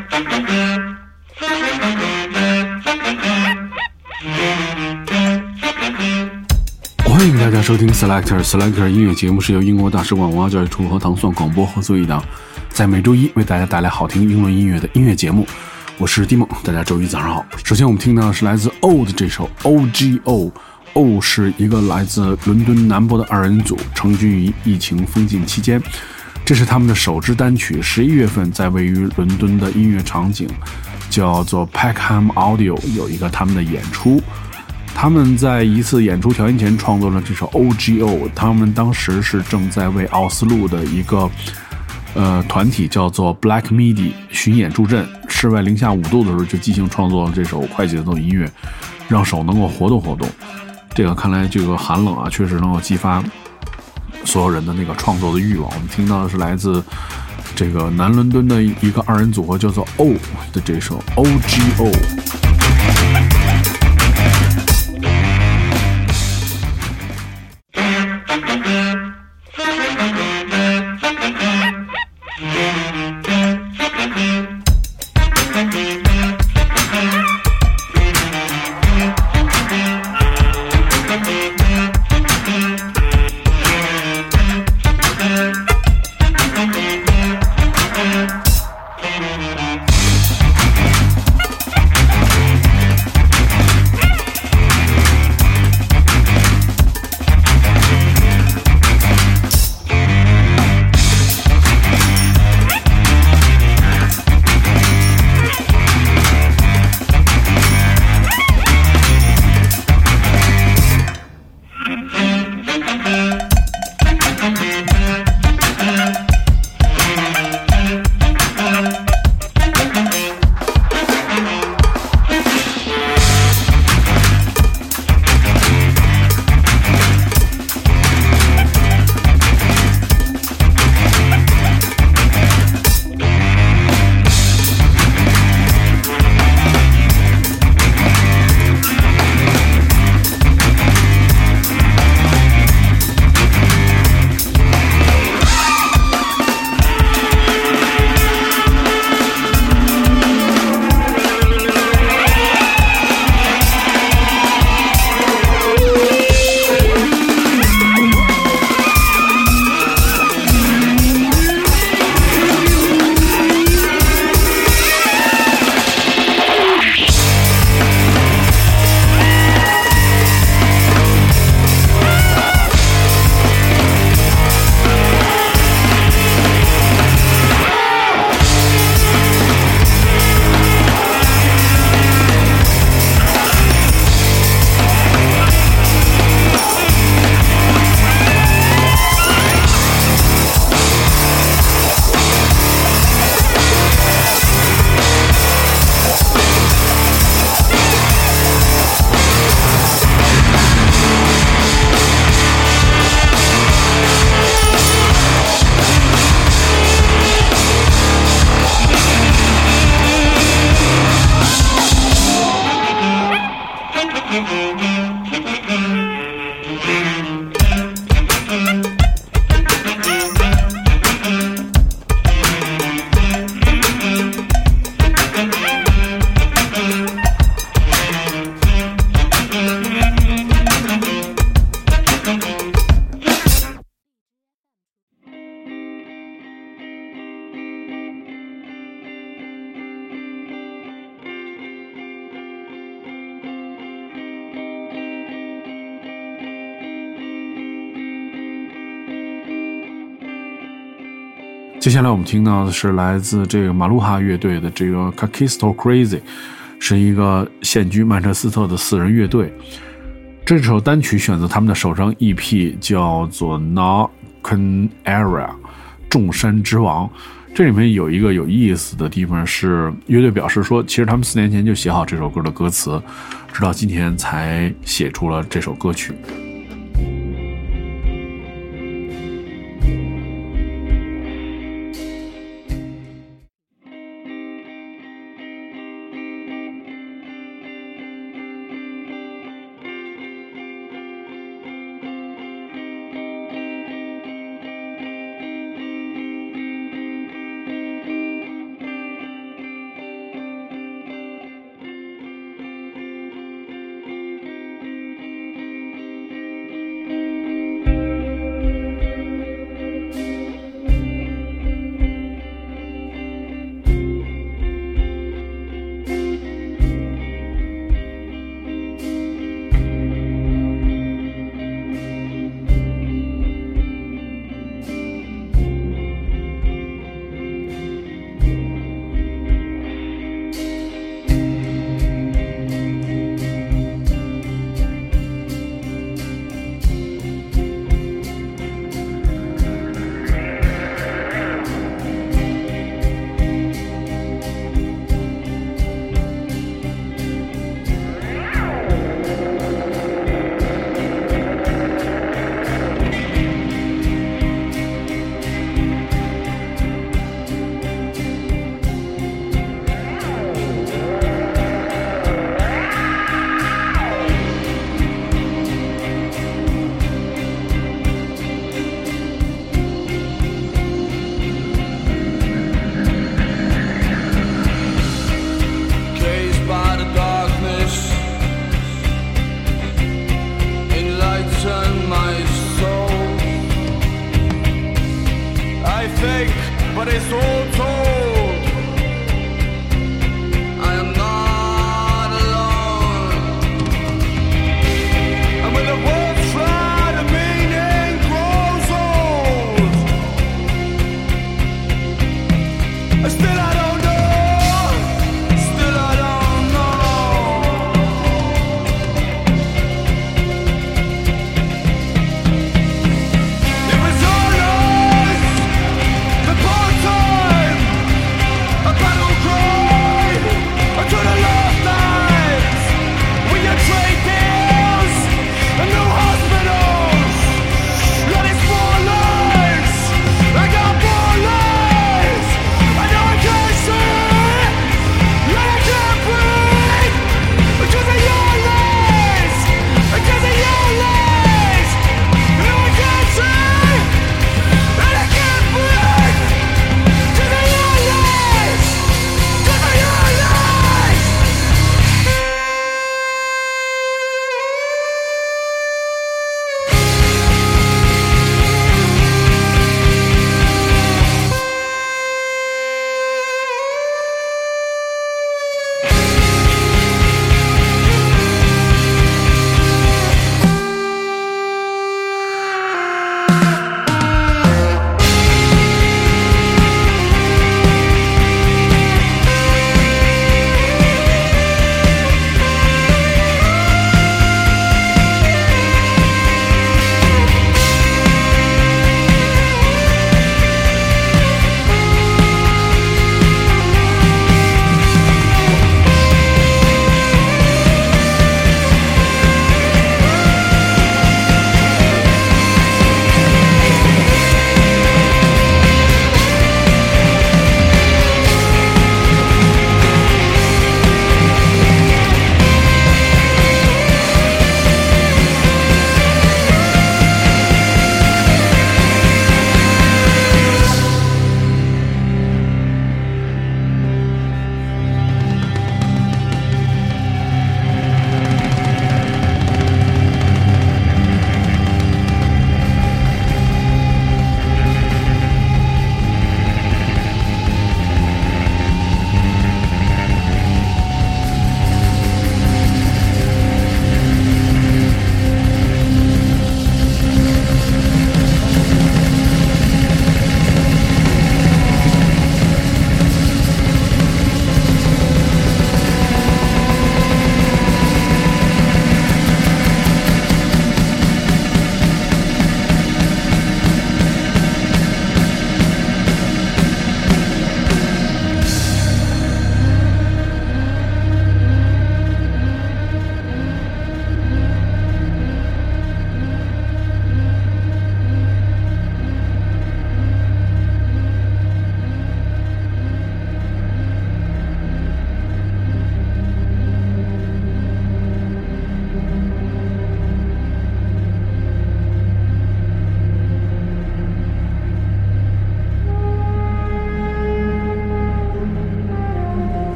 欢迎大家收听 Selector 音乐节目，是由英国大使馆文化教育处和糖蒜广播合作一档，在每周一为大家带来好听英伦音乐的音乐节目。我是蒂梦，大家周一早上好。首先我们听到的是来自 O 的这首 OGO。O 是一个来自伦敦南部的二人组，成军于疫情封禁期间。这是他们的首支单曲，11月份在位于伦敦的音乐场景叫做 Peckham Audio 有一个他们的演出。他们在一次演出调音前创作了这首 OGO， 他们当时是正在为奥斯陆的一个团体叫做 Black Midi 巡演助阵，室外零下5度的时候就即兴创作了这首快节奏音乐，让手能够活动活动。这个看来这个寒冷啊，确实能够激发所有人的那个创作的欲望。我们听到的是来自这个南伦敦的一个二人组合叫做 O 的这首 OGO。接下来我们听到的是来自这个马路哈乐队的这个 Kakisto Crazy， 是一个现居曼彻斯特的4人乐队。这首单曲选择他们的首张 EP 叫做 Narcan Area 众山之王。这里面有一个有意思的地方是，乐队表示说其实他们4年前就写好这首歌的歌词，直到今天才写出了这首歌曲。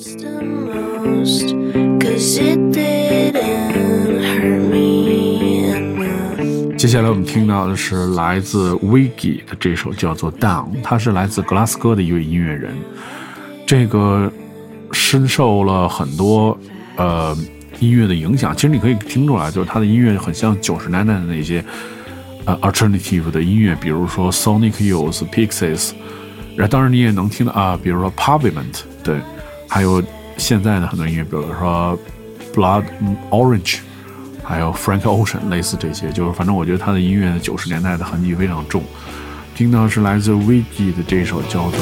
接下来我们听到的是来自 Wiggy 的这首叫做 Down， 他是来自格拉斯哥的一位音乐人，这个深受了很多音乐的影响，其实你可以听出来，就是他的音乐很像90年代的那些alternative 的音乐，比如说 Sonic Youth、Pixies， 当然你也能听到比如说 Pavement， 对，还有现在的很多音乐，比如说 Blood Orange， 还有 Frank Ocean， 类似这些，就是反正我觉得他的音乐90年代的痕迹非常重。听到是来自 Wiggy 的这首叫做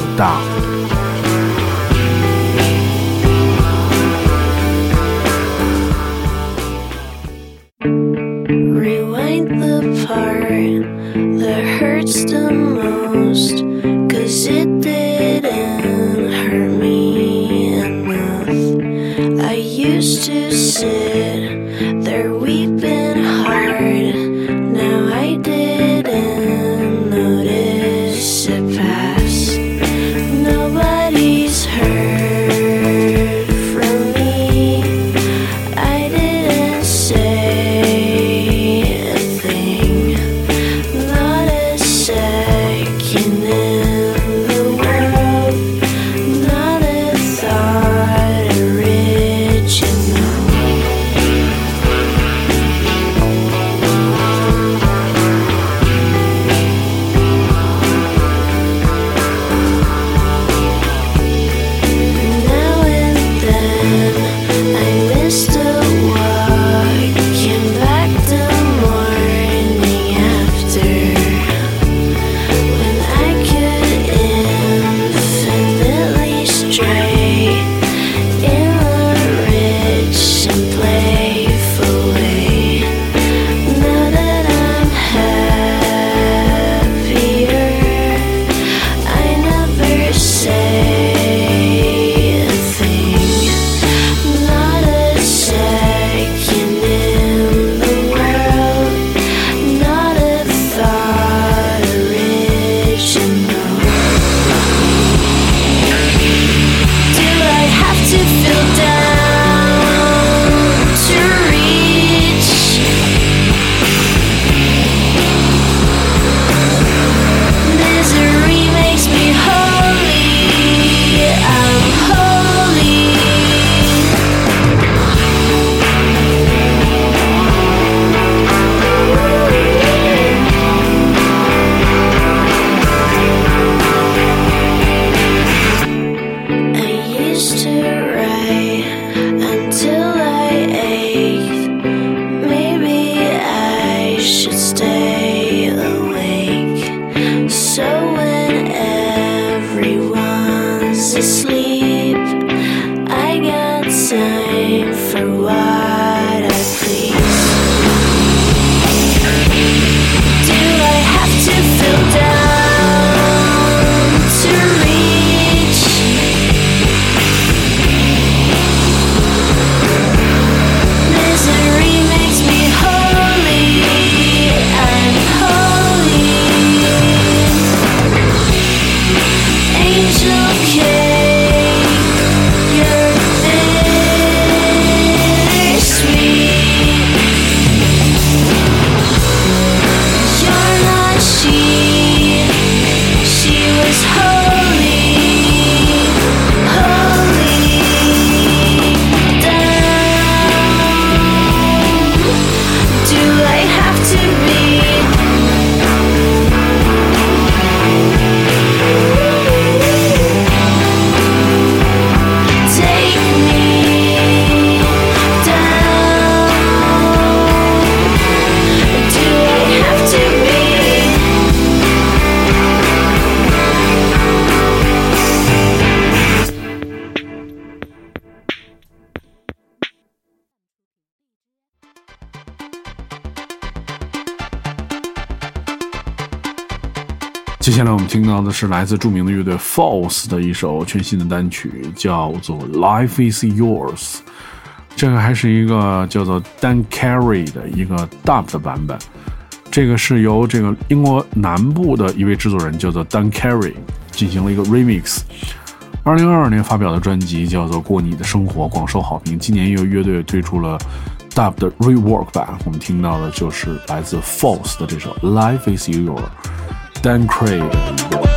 Down。接下来我们听到的是来自著名的乐队 False 的一首全新的单曲，叫做 Life is Yours。 这个还是一个叫做 Dan Carey 的一个 dub 的版本，这个是由这个英国南部的一位制作人叫做 Dan Carey 进行了一个 remix。 2022年发表的专辑叫做《过你的生活》，广受好评。今年又乐队推出了 Dub 的 Rework 版，我们听到的就是来自 False 的这首 Life is Your。Dan Craig 的一个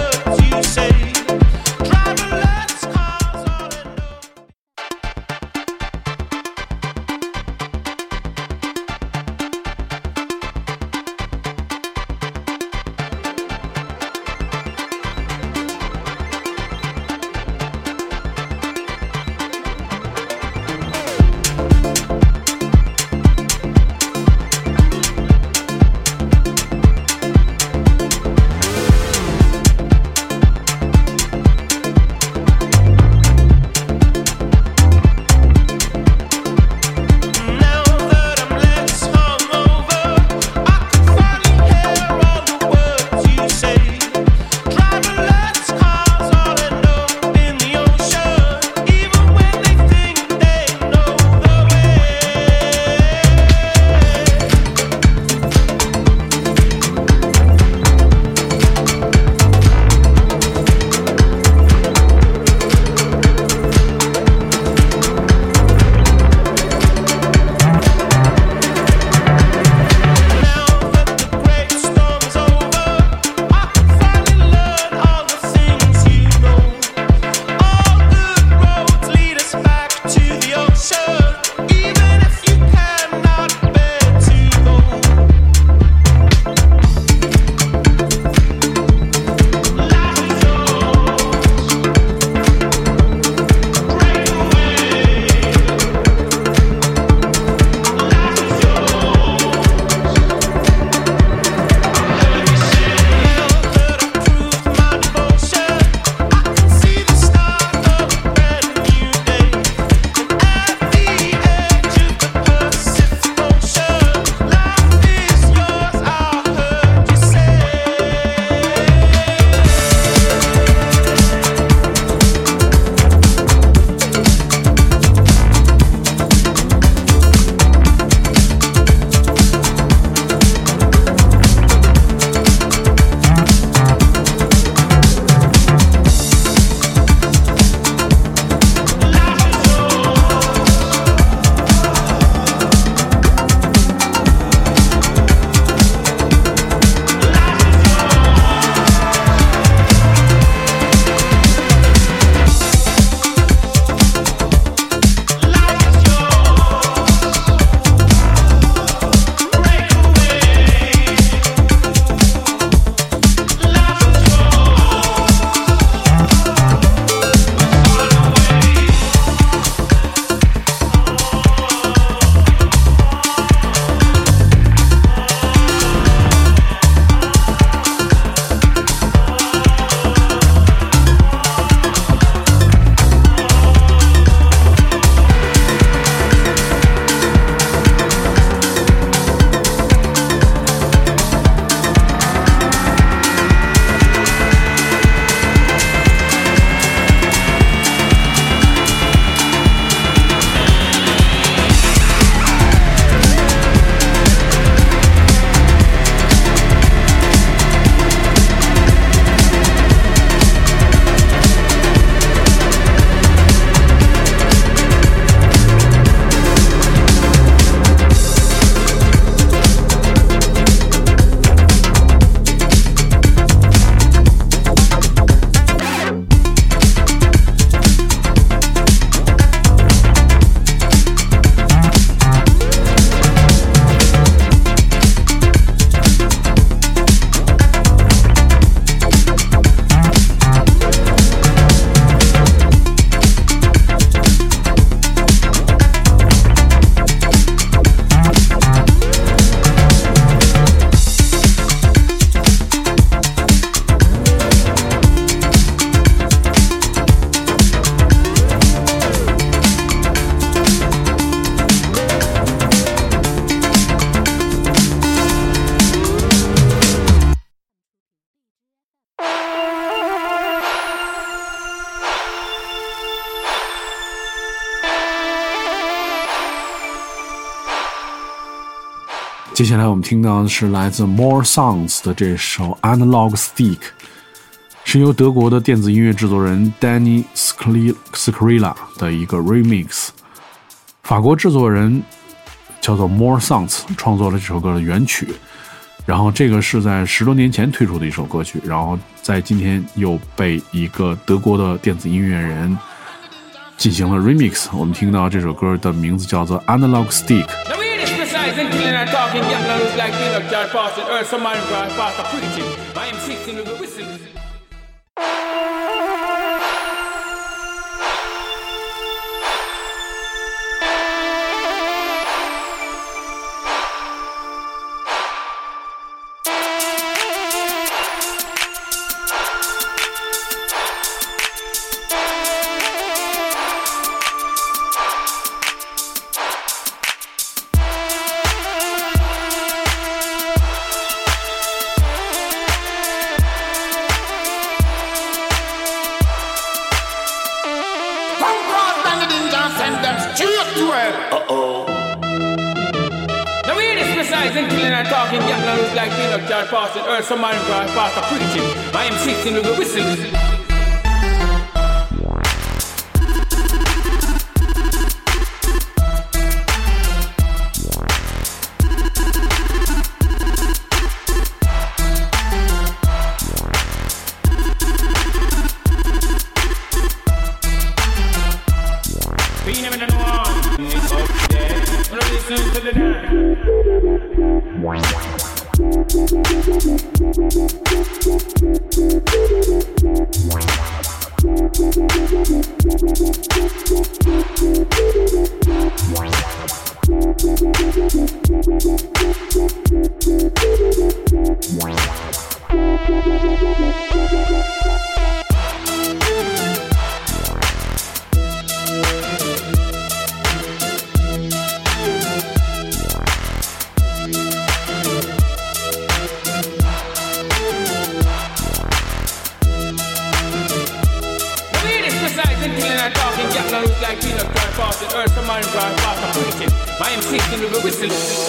接下来我们听到的是来自 More Songs 的这首 Analog Stick， 是由德国的电子音乐制作人 Danny Scrilla 的一个 remix， 法国制作人叫做 More Sounds 创作了这首歌的原曲，然后这个是在10多年前推出的一首歌曲，然后在今天又被一个德国的电子音乐人进行了 remix。 我们听到这首歌的名字叫做 Analog Stick。 And killing and talking, young and look like peanut jar passing earth, some man cry past a preaching. I am 16 with a whistle. Be never done one. Listen to the dance. Like peanut dry passing earth, some man cry past a preaching. I am 16 with a whistle.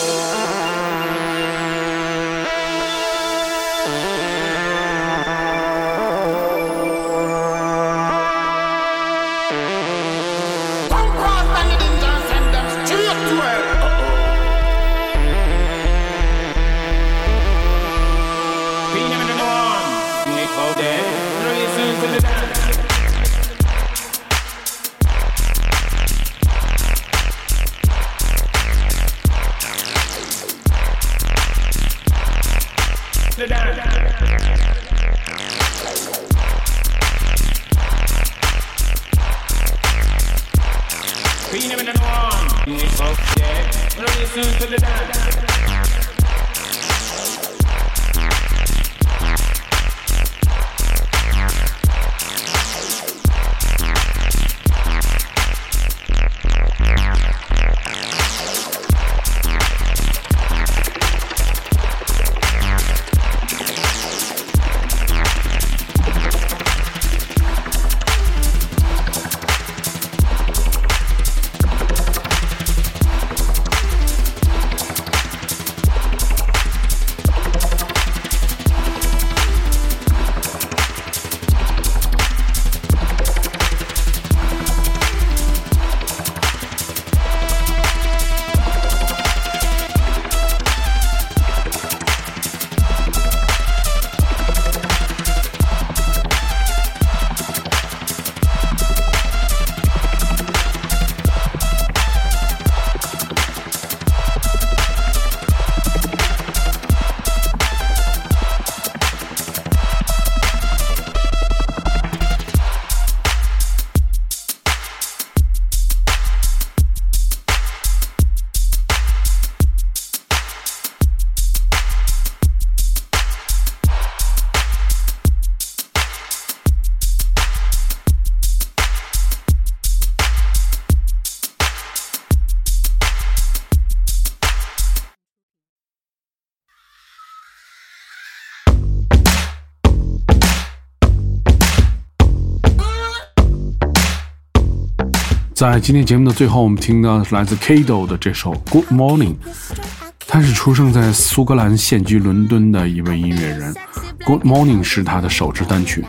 在今天节目的最后，我们听到的是来自 Kado 的这首 Good Morning。 他是出生在苏格兰现居伦敦的一位音乐人。 Good Morning 是他的首支单曲，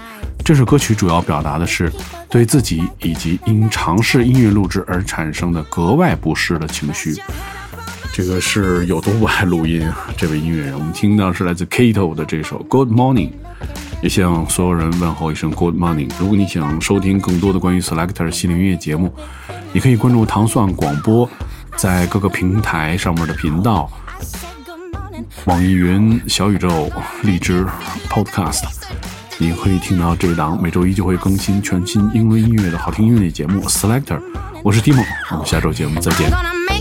这首歌曲主要表达的是对自己以及因尝试音乐录制而产生的格外不适的情绪。这个是有多不爱录音啊？这位音乐人，我们听到是来自 Kato 的这首 Good Morning， 也向所有人问候一声 Good Morning。 如果你想收听更多的关于 Selector 系列音乐节目，你可以关注糖蒜广播在各个平台上面的频道，网易云、小宇宙、荔枝 Podcast， 你可以听到这档每周一就会更新全新英伦音乐的好听音乐节目 Selector。 我是 Timo， 我们下周节目再见。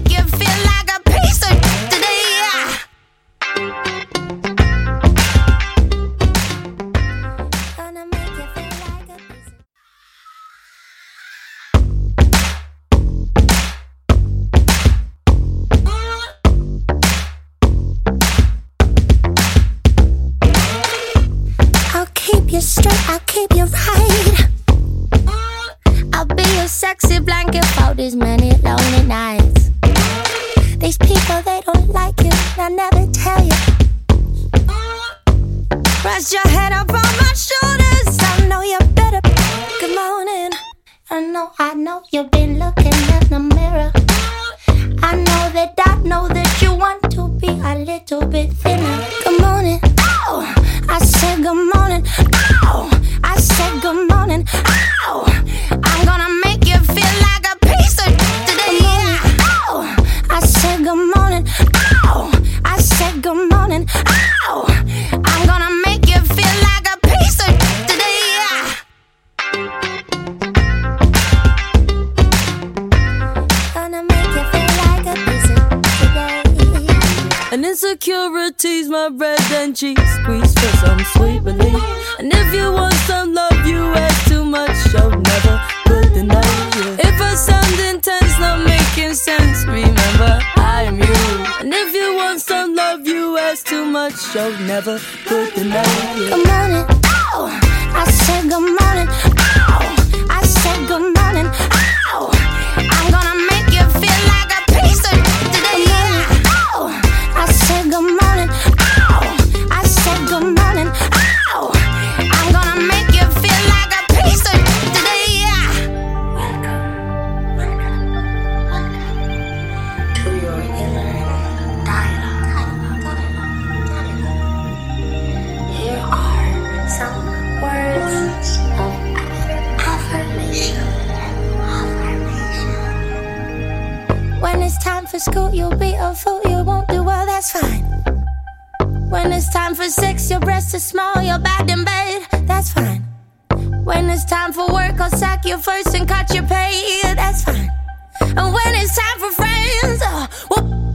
You straight, I'll keep you right. I'll be your sexy blanket for these many lonely nights. These people, they don't like you, they'll never tell you. Rest your head up on my shoulders, I know you better. Good morning. I know you've been looking in the mirror. I know that you want to be a little bit thinner. Good morning. Ow. I said good morning. Ow. I said good morning. Ow. I'm gonna make you feel like a piece of today. Ow. I said good morning. Ow. I said good morning. Ow. I'm gonna make you feel like a piece of today. Gonna make you feel like a piece of today. And insecurity's my bread and cheese squeeze for some sweet relief. And if you want some love, you ask too much, I'll never put the night. If I sound intense, not making sense, remember I am you. And if you want some love, you ask too much, I'll never put the night. Good morning. Ow. I said good morning. Ow. I said good morning. Ow. I'm gonna make you feel like a piece of today. Ow. I said good morning. Ow. I said good morning. Ow. I'm gonna make you feel like a piece of today. Welcome to your inner dialogue. Here are some words of affirmation. When it's time for school, you'll be a fool. You won't do well, that's fine. When it's time for sex, your breasts are small, you're bad in bed, that's fine. When it's time for work, I'll sack you first and cut your pay, that's fine. And when it's time for friends, whoop.